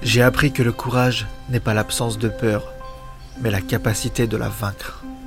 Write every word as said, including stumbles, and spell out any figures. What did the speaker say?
J'ai appris que le courage n'est pas l'absence de peur, mais la capacité de la vaincre.